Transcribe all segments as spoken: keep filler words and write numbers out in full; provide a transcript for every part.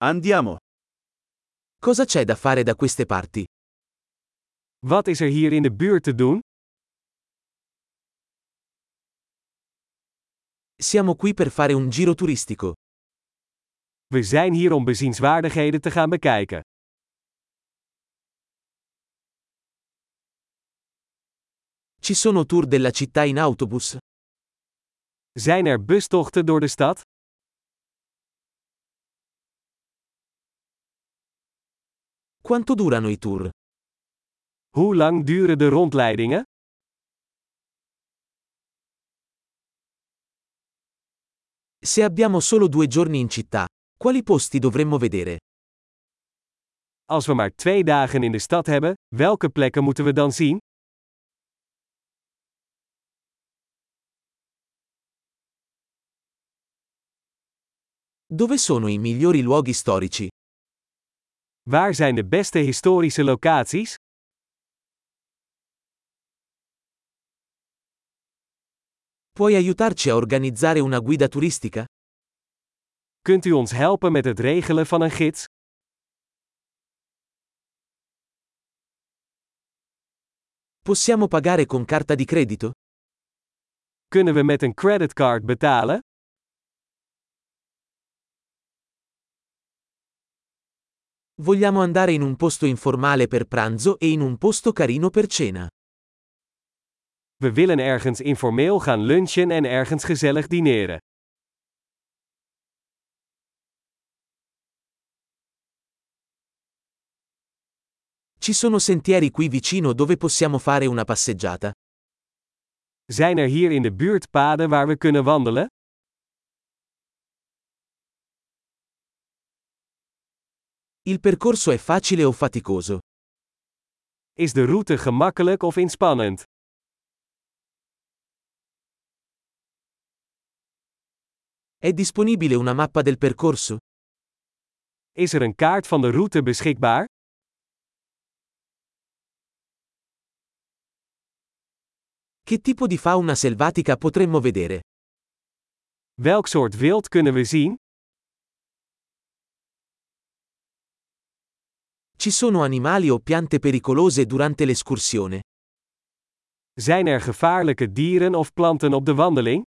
Andiamo. Cosa c'è da fare da queste parti? Wat is er hier in de buurt te doen? Siamo qui per fare un giro turistico. We zijn hier om bezienswaardigheden te gaan bekijken. Ci sono tour della città in autobus? Zijn er bustochten door de stad? Quanto durano i tour? Hoe lang duren de rondleidingen? Se abbiamo solo due giorni in città, quali posti dovremmo vedere? Als we maar twee dagen in de stad hebben, welke plekken moeten we dan zien? Dove sono i migliori luoghi storici? Waar zijn de beste historische locaties? Puoi aiutarci a organizzare una guida turistica? Kunt u ons helpen met het regelen van een gids? Possiamo pagare con carta di credito? Kunnen we met een creditcard betalen? Vogliamo andare in un posto informale per pranzo e in un posto carino per cena. We willen ergens informeel gaan lunchen en ergens gezellig dineren. Ci sono sentieri qui vicino dove possiamo fare una passeggiata? Zijn er hier in de buurt paden waar we kunnen wandelen? Il percorso è facile o faticoso? Is de route gemakkelijk of inspannend? È disponibile una mappa del percorso? Is er een kaart van de route beschikbaar? Che tipo di fauna selvatica potremmo vedere? Welk soort wild kunnen we zien? Ci sono animali o piante pericolose durante l'escursione? Zijn er gevaarlijke dieren of planten op de wandeling?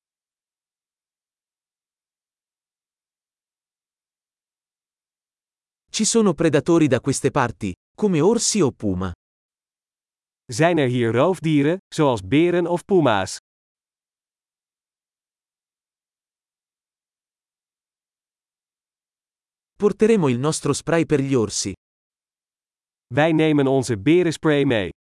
Ci sono predatori da queste parti, come orsi o puma? Zijn er hier roofdieren, zoals beren of puma's? Porteremo il nostro spray per gli orsi. Wij nemen onze berenspray mee.